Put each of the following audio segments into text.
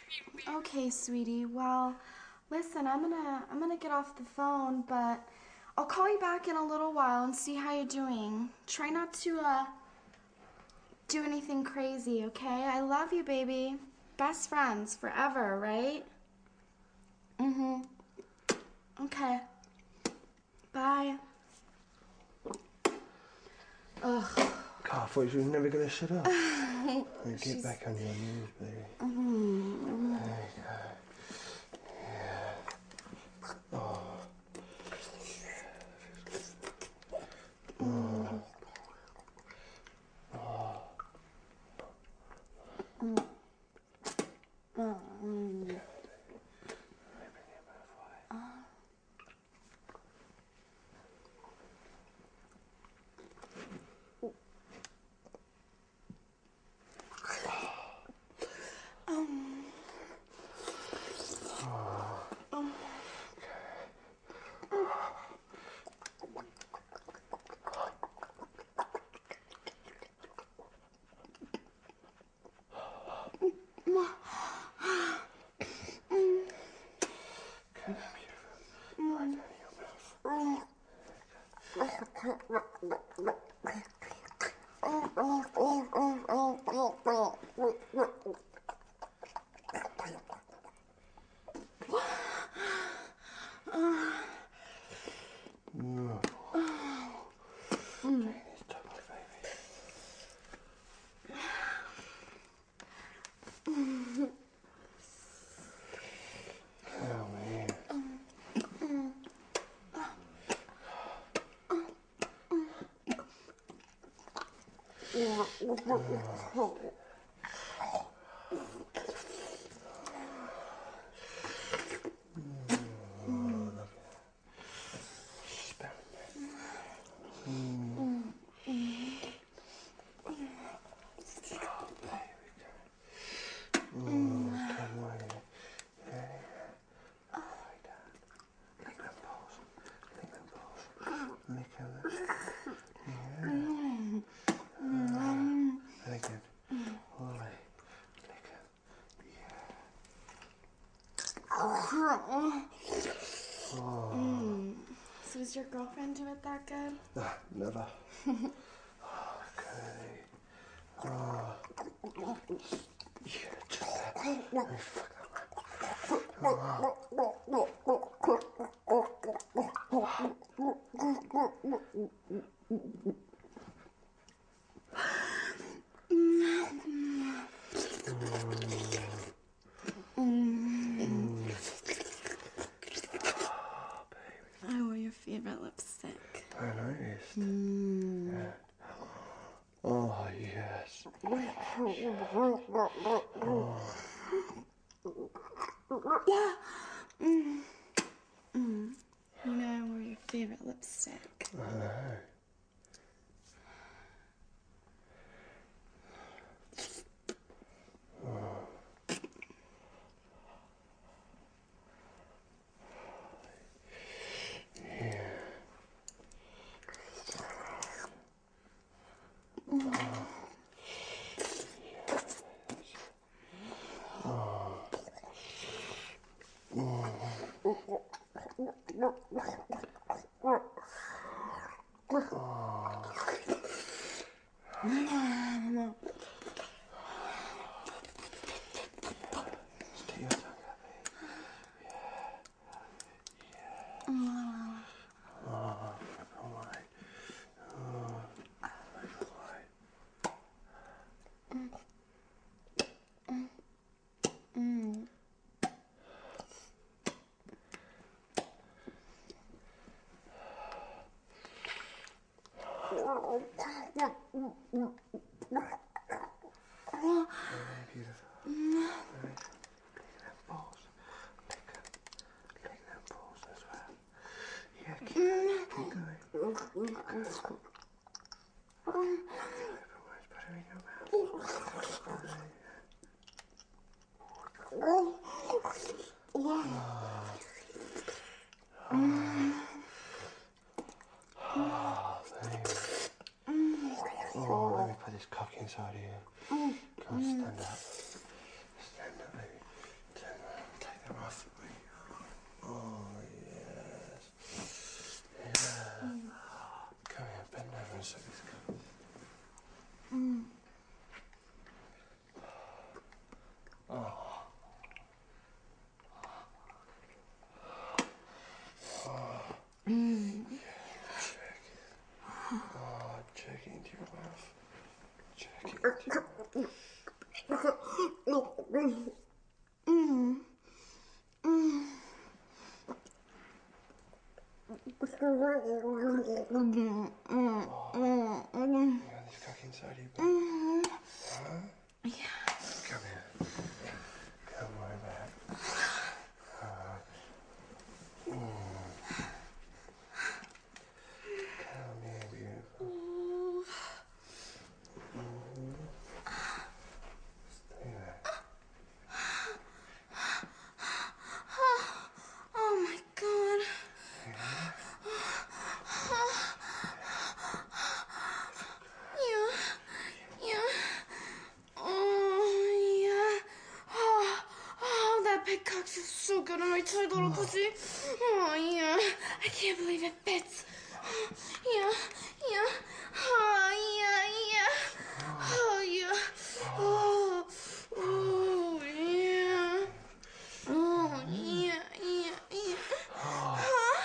Okay, sweetie. Well, listen, I'm gonna get off the phone, but I'll call you back in a little while and see how you're doing. Try not to do anything crazy, okay? I love you, baby. Best friends forever, right? Mm-hmm. Okay. Bye. Ugh. God, I thought you were never going to shut up. Get back on your knees, baby. There you go. Yeah. Oh. Oh. So is your girlfriend do it that good? Never. Okay. Oh. Yeah, just that. Oh, fuck I wore your favorite lipstick. I noticed. Yeah. Oh, yes. Yeah. You know I wore your favorite lipstick. I know. Stick your tongue out, babe. Oh, all right. Very beautiful. Very lick them balls. Lick them balls as well. Yeah, keep going. Keep going. Put her in your mouth. Oh, baby. Oh, let me put this cock inside of you. Come on, stand up. Stand up, baby. Check into your mouth. Check into your You got this cock inside you, babe? Huh? Yeah. Come here. Come right back. Come here, beautiful. Stay there. Oh my God. Yeah. Yeah. Oh, yeah. Oh, that big cock feels so good on my tight little pussy. Oh, yeah. I can't believe it fits. Yeah. Yeah. Oh, yeah. Yeah. Oh, yeah. Oh. Oh, yeah. Oh, yeah. Yeah. Yeah. Oh,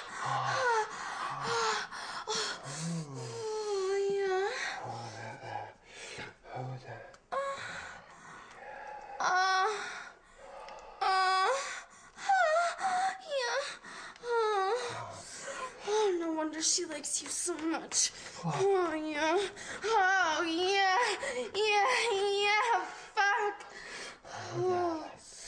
yeah. Hold that. Yeah. Oh, no wonder she likes you so much. Oh, yeah. Oh, yeah. Yeah, yeah. Fuck. Oh.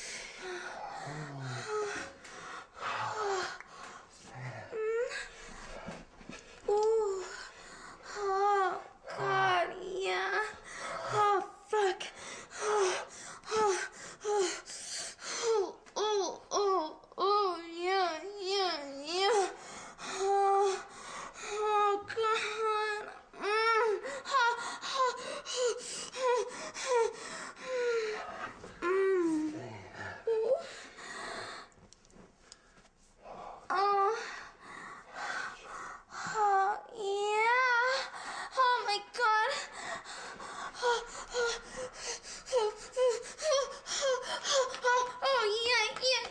Ooh. Oh, God, yeah. Oh, fuck. Oh, oh, oh, oh, oh, oh, yeah, yeah, yeah. Oh, oh, God. Oh, oh, yeah. Oh, my God. Oh, yeah, yeah,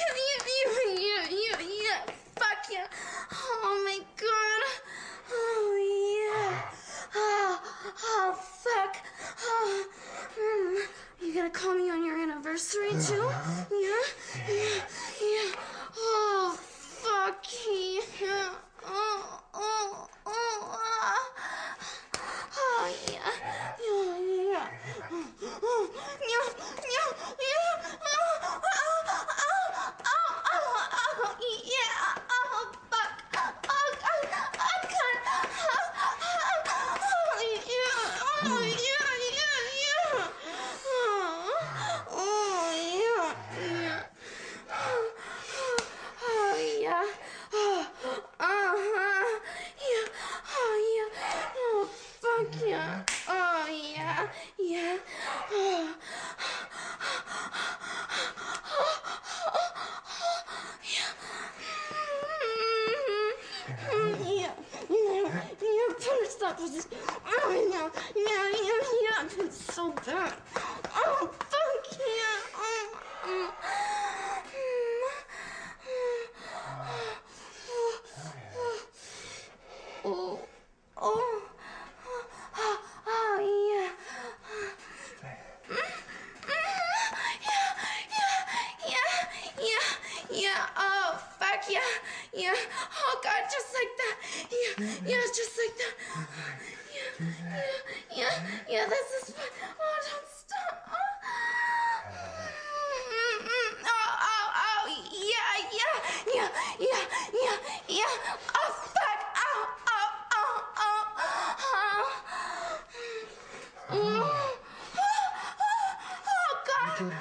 yeah. Fuck yeah. Oh, my God. Oh, yeah. Oh, fuck. Oh, you gonna call me on your anniversary, too? Yeah? Yeah. Oh, fuck yeah. Oh, yeah. Yeah. Yeah. Oh, yeah. Yeah. Oh. Yeah. Stop with this. Oh, yeah. It's so bad. Oh, fuck yeah. Oh, yeah. Yeah. Oh, fuck yeah. Yeah. Oh, God, just like that. Yeah, just like that. Yeah, this is fun. Oh, don't stop. Oh, yeah. Oh, fuck. Oh, God.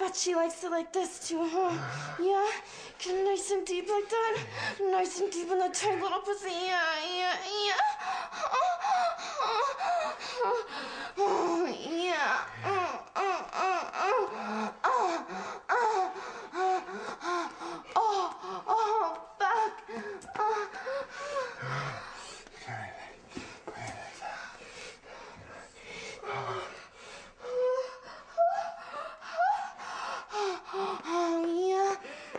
bet she likes it like this too, huh? Yeah? Get it nice and deep like that? Nice and deep in the tight little pussy. Yeah. Oh, yeah. Oh, fuck. Oh, yeah.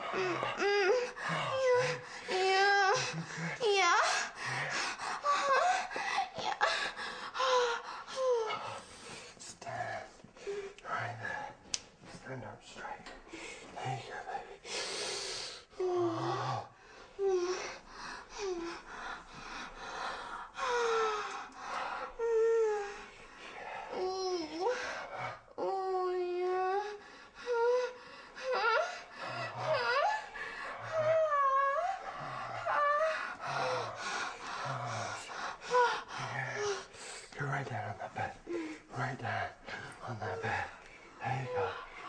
Yeah. Stand right there. Stand up straight. There you go, baby. You're right there on that bed. Right there on that bed. There you go.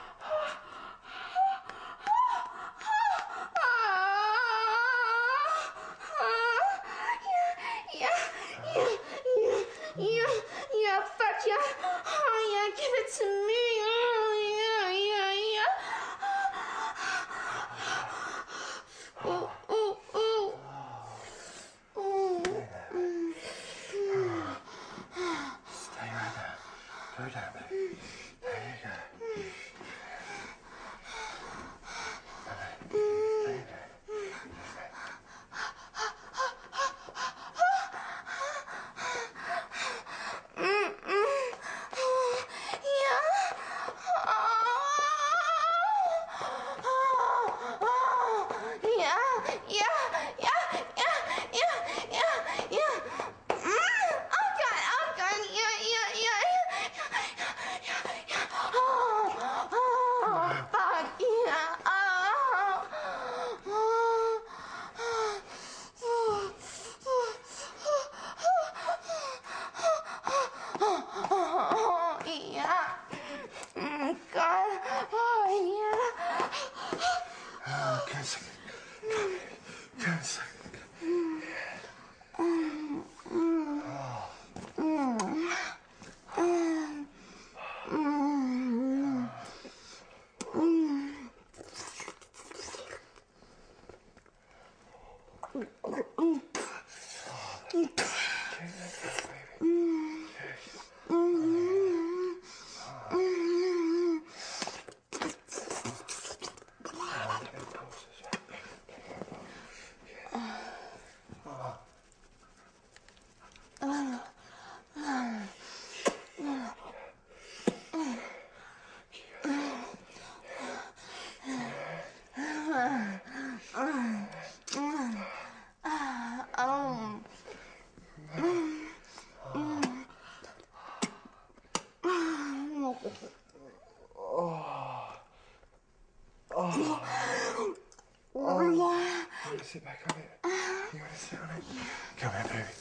Yeah, fuck yeah. Oh, yeah, give it to me. Oh, yeah. Ooh. Stay right there. Go down, baby. There you go. Stay there. Come a second. Come a second. You want to sit back on it? You want to sit on it? Come here, baby.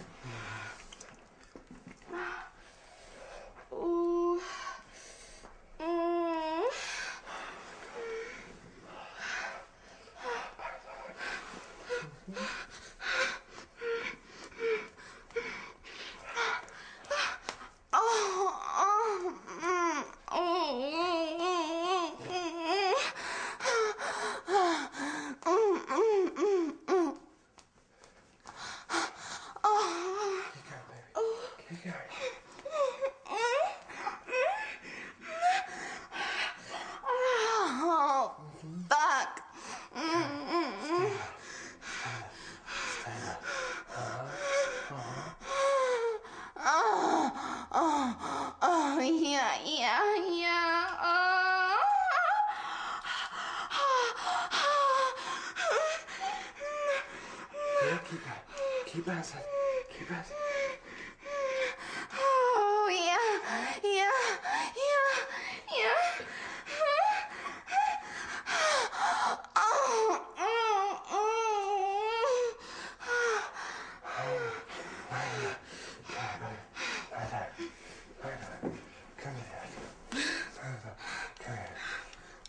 Keep going. Oh, fuck. Oh, yeah. Yeah, keep bouncing. Keep bouncing. Oh, yeah. Right there. Come here. Come here.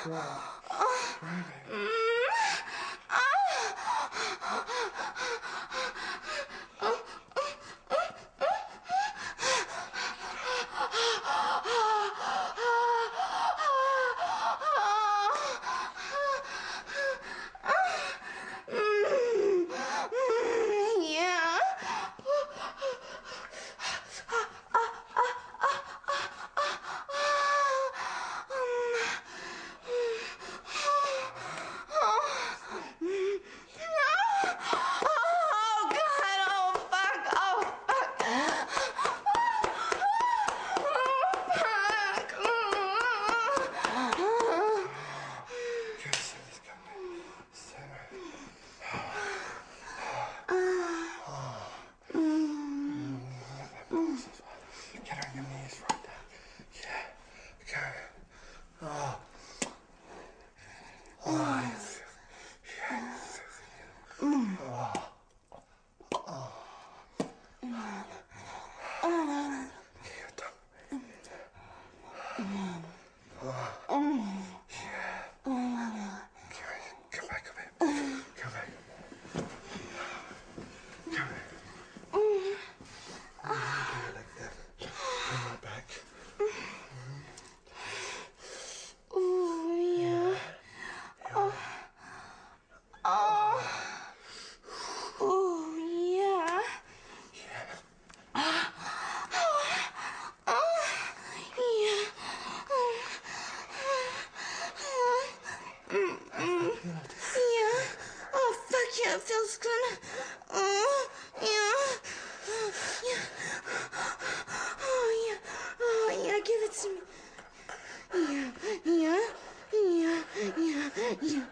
Come on, baby. Yeah. Oh God! Oh fuck! Oh fuck! Good, Cindy's coming. Center. Get on your knees right there. Yeah. Okay. Oh. Oh, yeah. Come back a bit. Come back. Come back. Do it like that. Bring my back. Oh yeah. Oh yeah. Yeah. Oh fuck yeah, it feels good. Yeah. Yeah. Oh yeah. Oh yeah, give it to me. Yeah. Yeah. Yeah. Yeah. Yeah.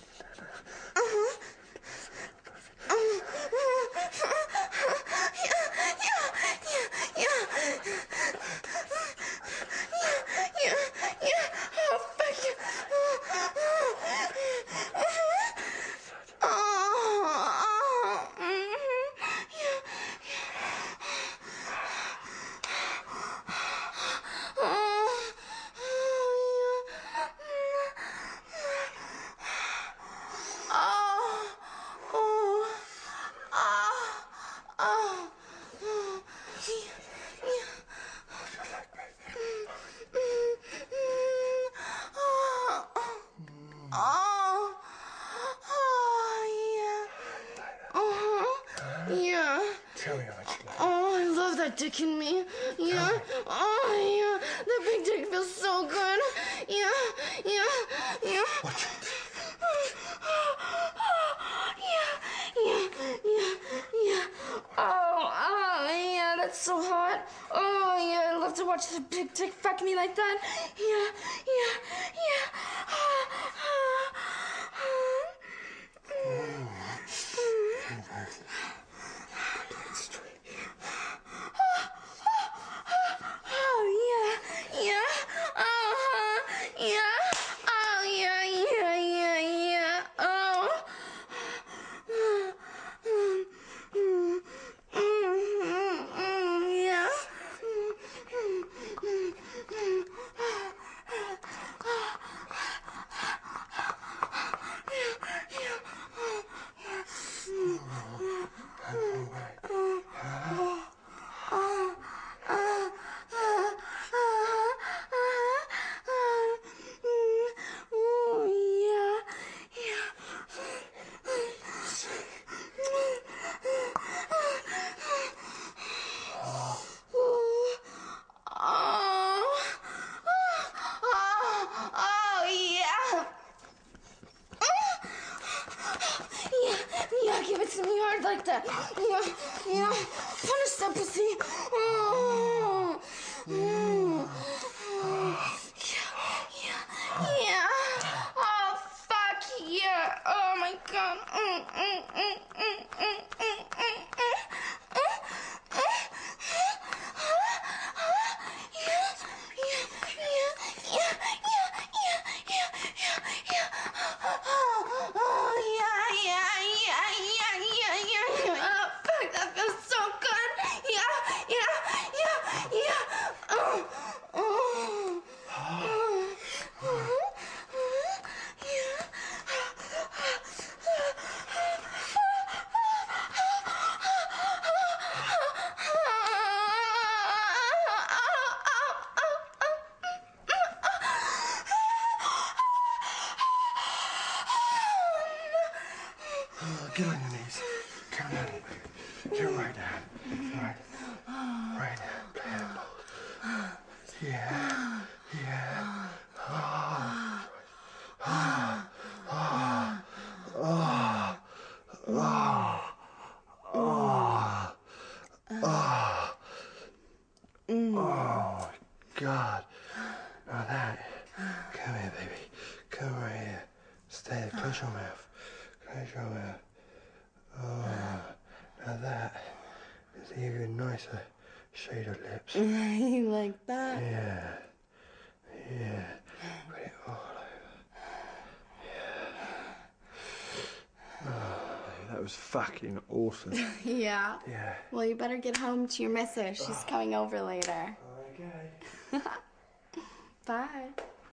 Tell me how much you like it. Oh, I love that dick in me. Yeah. Oh, yeah. That big dick feels so good. Yeah. Yeah. Yeah. Watch it. Yeah. Oh, yeah, that's so hot. Oh, yeah, I love to watch the big dick fuck me like that. Yeah. Oh, yeah. Oh, yeah. Oh. Yeah. Yeah, give it to me hard like that. Yeah. Punish that pussy. Yeah. Oh, fuck yeah. Oh, my God. Yeah. Get on your knees. Come down, baby. Get right down. Right. Right down. Play that ball. Yeah. Yeah. Oh. Oh. Oh. Oh. Oh. Oh. Oh. Oh my God. Now that. Come here, baby. Come right here. Stay there. Close your mouth. Close your mouth. Oh. Now that is even nicer shade of lips. You like that? Yeah. Yeah. Put it all over. Yeah. Oh, that was fucking awesome. Yeah. Yeah. Well, you better get home to your missus. She's coming over later. Okay. Bye.